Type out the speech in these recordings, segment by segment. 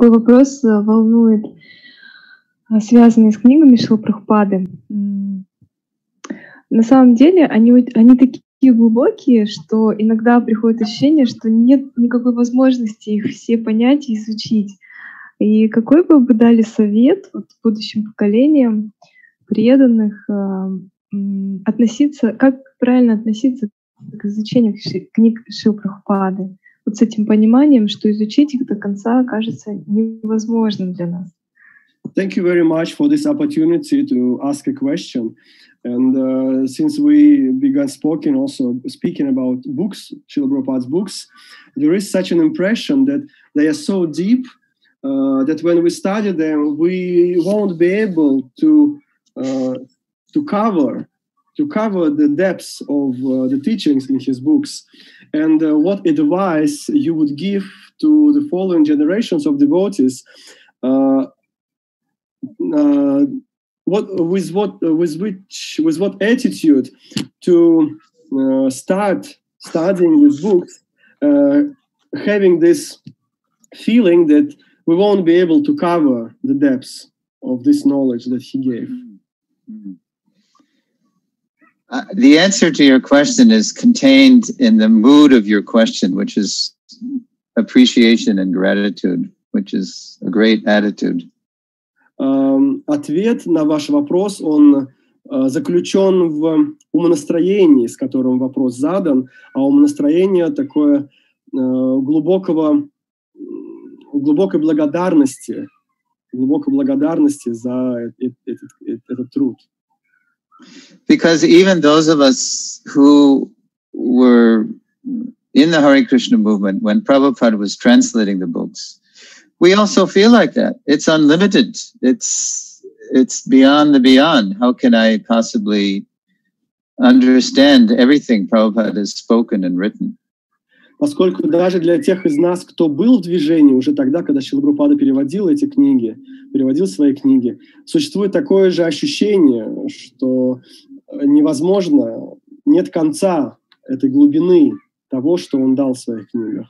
такой вопрос волнует, связанный с книгами Шрилы Прабхупады. На самом деле они такие глубокие, что иногда приходит ощущение, что нет никакой возможности их все понять и изучить. И какой бы вы дали совет будущим поколениям преданных как правильно относиться к изучению книг Шрилы Прабхупады? Вот с этим пониманием, что изучить их до конца кажется невозможным для нас. Thank you very much for this opportunity to ask a question. And since we began speaking about books, Srila Prabhupada's books, there is such an impression that they are so deep that when we study them, we won't be able to cover the depths of the teachings in his books. And what advice you would give to the following generations of devotees? With what attitude to start studying these books, having this feeling that we won't be able to cover the depths of this knowledge that he gave? The answer to your question is contained in the mood of your question, which is appreciation and gratitude, which is a great attitude. Ответ на ваш вопрос, он заключен в умонастроении, с которым вопрос задан, а умонастроение такое глубокой благодарности за этот труд. Because even those of us who were in the Hare Krishna movement when Prabhupada was translating the books, we also feel like that. It's unlimited. It's beyond the beyond. How can I possibly understand everything Prabhupada has spoken and written? Поскольку даже для тех из нас, кто был в движении уже тогда, когда Шрила Прабхупада переводил свои книги, существует такое же ощущение, что невозможно, нет конца этой глубины того, что он дал в своих книгах.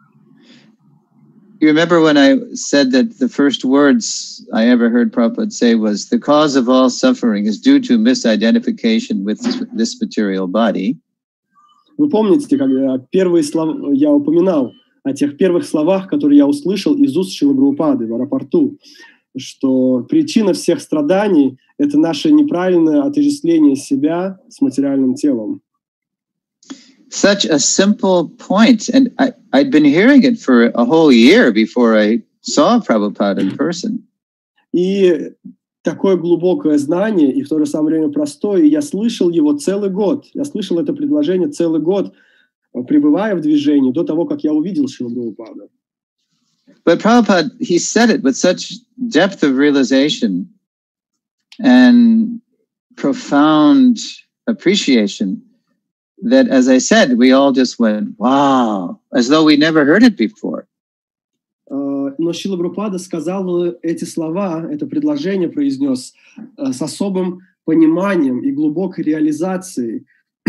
You remember when I said that the first words I ever heard Prabhupada say was, the cause of all suffering is due to misidentification with this material body. Вы помните, когда первые слова я упоминал о тех первых словах, которые я услышал из уст Шрилы Прабхупады в аэропорту, что причина всех страданий — это наше неправильное отождествление себя с материальным телом. Such a simple point, and I'd been hearing it for a whole year before I saw Prabhupada in person. И такое глубокое знание, и в то же самое время простое, и я слышал его целый год. Я слышал это предложение целый год, пребывая в движении, до того, как я увидел Шрилу Прабхупаду. But Prabhupada, he said it with such depth of realization and profound appreciation that, as I said, we all just went, wow, as though we never heard it before. Но Шрила Прабхупада сказал эти слова, это предложение произнес с особым пониманием и глубокой реализацией.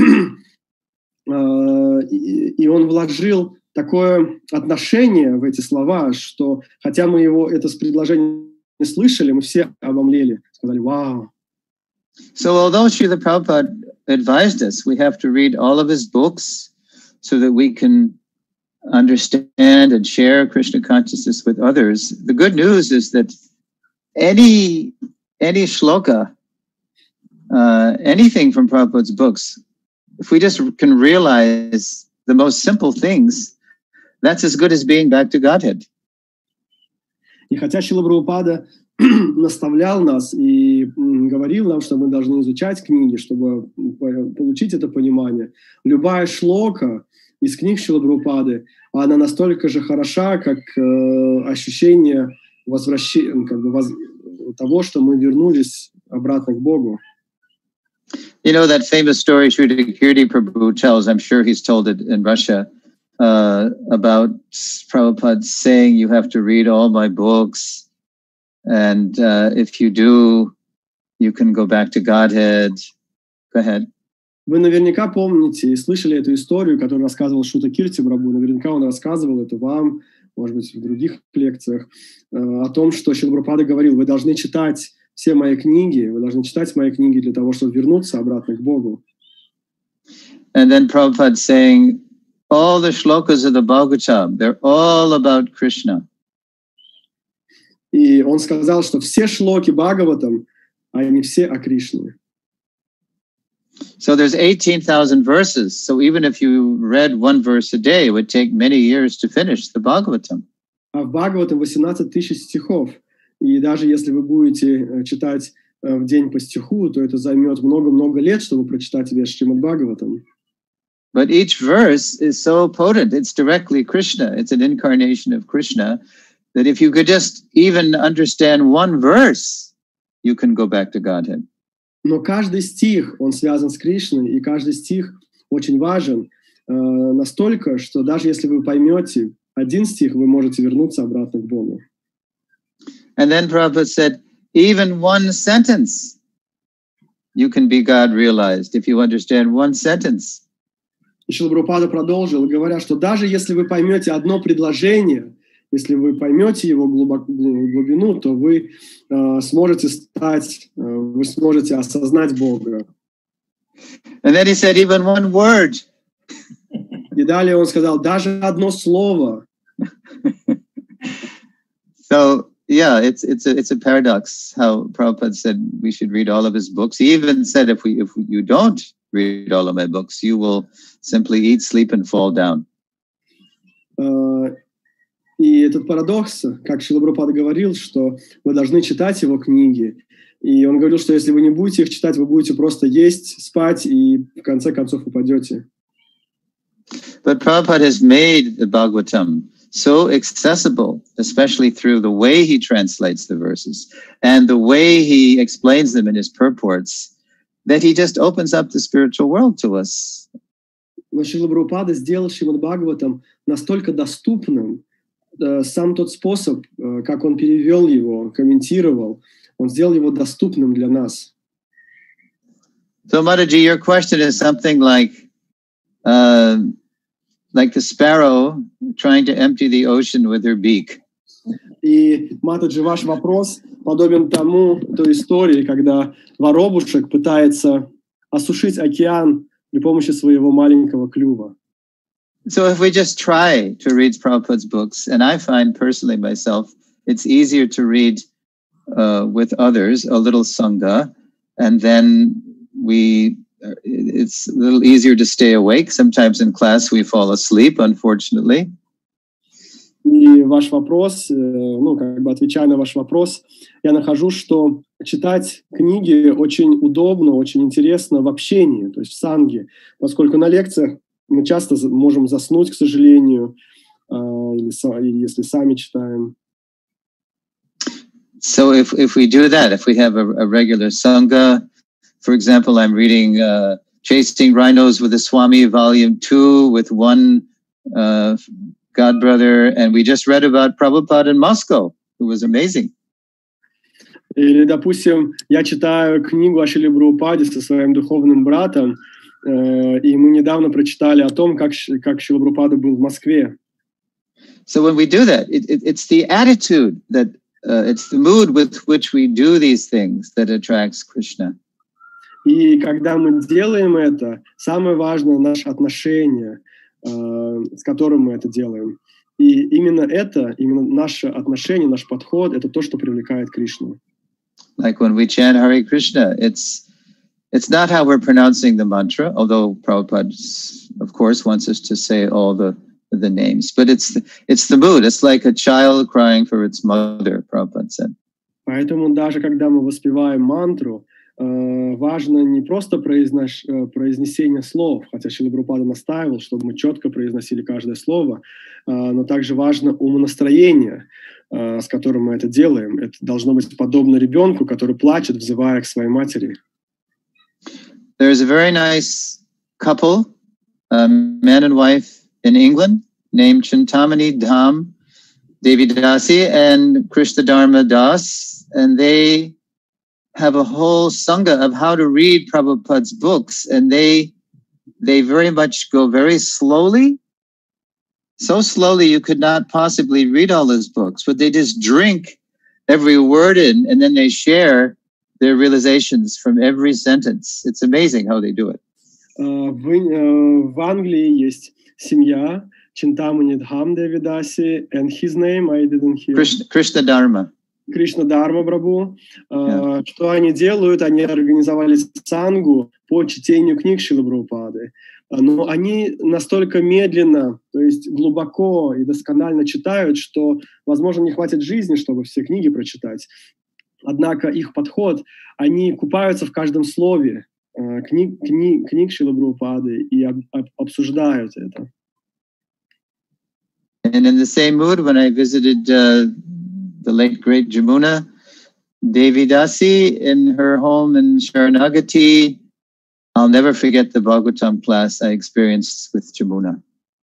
И он вложил такое отношение в эти слова, что хотя мы это предложение не слышали, мы все обомлели, сказали «Вау». So although Srila Prabhupada advised us, we have to read all of his books so that we can understand and share Krishna consciousness with others. The good news is that any shloka, anything from Prabhupada's books, if we just can realize the most simple things, that's as good as being back to Godhead. И хотя Шрила Прабхупада наставлял нас и говорил нам, что мы должны изучать книги, чтобы получить это понимание, любая шлока из книг Шрилы Прабхупады, она настолько же хороша, как ощущение возвращения, того, что мы вернулись обратно к Богу. You know that famous story Srila Kirti Prabhu tells, I'm sure he's told it in Russia, about Prabhupada saying, you have to read all my books, and if you do, you can go back to Godhead. Go ahead. Вы наверняка помните и слышали эту историю, которую рассказывал Шута Кирти Прабху. Наверняка он рассказывал это вам. может быть, в других лекциях, о том, что Шрила Прабхупада говорил: вы должны читать все мои книги, вы должны читать мои книги для того, чтобы вернуться обратно к Богу. And then Prabhupada saying, all the shlokas of the Bhagavatam, they're all about Krishna. И он сказал, что все шлоки Бхагаватам, они все о Кришне. So there's 18,000 verses. So even if you read one verse a day, it would take many years to finish the Bhagavatam. А в Бхагаватам 18 тысяч стихов. И даже если вы будете читать в день по стиху, то это займет много-много лет, чтобы прочитать весь Шримад Бхагаватам. But each verse is so potent. It's directly Krishna. It's an incarnation of Krishna. That if you could just even understand one verse, you can go back to Godhead. Но каждый стих, он связан с Кришной, и каждый стих очень важен настолько, что даже если вы поймете один стих, вы можете вернуться обратно к Богу. And then Prabhupada said, even one sentence, you can be God realized if you understand one sentence. И Шрила Прабхупада продолжил, говоря, что даже если вы поймете одно предложение, если вы поймете его глубину, то вы сможете осознать Бога. And then he said, even one word. И далее он сказал, даже одно слово. So yeah, it's a paradox how Prabhupada said we should read all of his books. He even said if you don't read all of my books, you will simply eat, sleep, and fall down. И этот парадокс, как Шрила Прабхупада говорил, что вы должны читать его книги. И он говорил, что если вы не будете их читать, вы будете просто есть, спать, и в конце концов упадете. But Prabhupada has made the Bhagavatam so accessible, especially through the way he translates the verses and the way he explains them in his purports, that he just opens up the spiritual world to us. Но Шрила Прабхупада сделал Шримад Бхагаватам настолько доступным, сам тот способ, как он перевел его, комментировал, он сделал его доступным для нас. So, Mataji, your question is something like the sparrow trying to empty the ocean with her beak. И, Матаджи, ваш вопрос подобен той истории, когда воробушек пытается осушить океан при помощи своего маленького клюва. So if we just try to read Prabhupada's books, and I find personally myself, it's easier to read with others, a little sangha, and then it's a little easier to stay awake. Sometimes in class we fall asleep, unfortunately. И ваш вопрос, отвечая на ваш вопрос, я нахожу, что читать книги очень удобно, очень интересно в общении, то есть в санге, поскольку на лекциях мы часто можем заснуть, к сожалению, или если сами читаем. So if we do that, if we have a regular sangha, for example, I'm reading Chasing Rhinos with the Swami, Volume 2, with one godbrother, and we just read about Prabhupada in Moscow, who was amazing. Или, допустим, я читаю книгу о Шриле Прабхупаде со своим духовным братом, и мы недавно прочитали о том, как Шрила Прабхупада был в Москве. So when we do that, it's the attitude that it's the mood with which we do these things that attracts Krishna. И когда мы делаем это, самое важное наше отношение, с которым мы это делаем. И именно наше отношение, наш подход, это то, что привлекает Кришну. Like when we chant Hare Krishna, it's not how we're pronouncing the mantra, although Prabhupada, of course, wants us to say all the names, but it's the mood. It's like a child crying for its mother, Prabhupada said. Поэтому даже когда мы воспеваем мантру, важно не просто произнесение слов, хотя Шрила Прабхупада настаивал, чтобы мы четко произносили каждое слово, но также важно умонастроение, с которым мы это делаем. Это должно быть подобно ребенку, который плачет, взывая к своей матери. There's a very nice couple, man and wife in England, named Chintamani Dham Devidasi and Krishna Dharma Das, and they have a whole sangha of how to read Prabhupada's books, and they very much go very slowly, so slowly you could not possibly read all his books, but they just drink every word in, and then they share their realizations from every sentence. It's amazing how they do it. В Англии есть семья Чинтамани Дхам Девидаси, and his name I didn't hear. Krishna Dharma. Кришна Дharma Прабху. Что они делают? Они организовали сангу по чтению книг Шрилы Прабхупады. Но они настолько медленно, то есть глубоко и досконально читают, что, возможно, не хватит жизни, чтобы все книги прочитать. Однако их подход, они купаются в каждом слове книг Шрилы Прабхупады и обсуждают это. And in the same mood, when I visited the late great Jamuna Devi Dasi in her home in Sharanagati, I'll never forget the Bhagavatam class I experienced with Jamuna.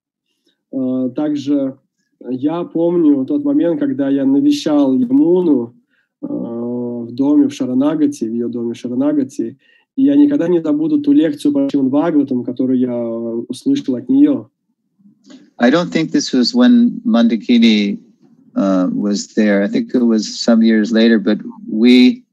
Также я помню тот момент, когда я навещал Ямуну в доме в Шаранагати, в ее доме в Шаранагати, и я никогда не забуду ту лекцию по Шримад Бхагаватам, которую я услышал от нее. I don't think this was when Mandakini was there. I think it was some years later, but we,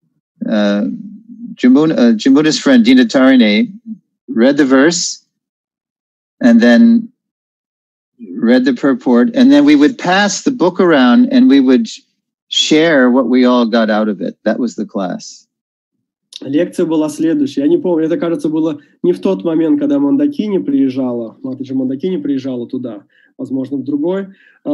Jamuna's friend Dina Tarine read the verse and then read the purport, and then we would pass the book around and we would share what we all got out of it. That was the class. Лекция была следующая. Я не помню, это, кажется, было не в тот момент, когда Мандакини приезжала, Матаджи Мандакини приезжала туда, возможно, в другой.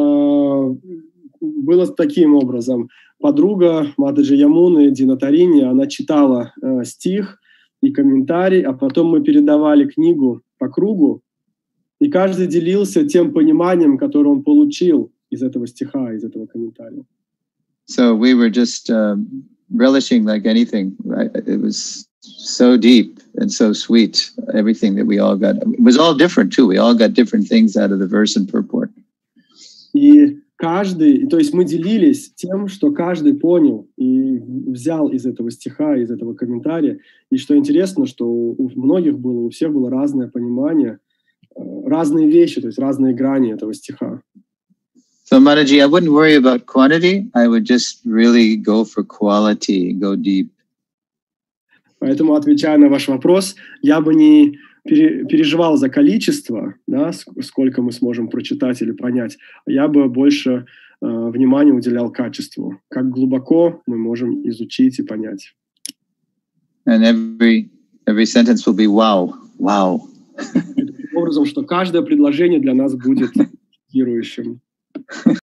Было таким образом. Подруга Матаджи Ямуны, Дина Тарини, она читала стих и комментарий, а потом мы передавали книгу по кругу, и каждый делился тем пониманием, которое он получил из этого стиха, из этого комментария. So we were just relishing like anything. It was so deep and so sweet, everything that we all got. It was all different too. We all got different things out of the verse and purport. И каждый, то есть мы делились тем, что каждый понял и взял из этого стиха, из этого комментария. И что интересно, что у многих было, у всех было разное понимание, разные вещи, то есть разные грани этого стиха. So Mataji, I wouldn't worry about quantity. I would just really go for quality, go deep. Поэтому, отвечая на ваш вопрос, я бы не переживал за количество, да, сколько мы сможем прочитать или понять. Я бы больше внимания уделял качеству, как глубоко мы можем изучить и понять. And every sentence will be wow, wow. Таким образом, что каждое предложение для нас будет шокирующим.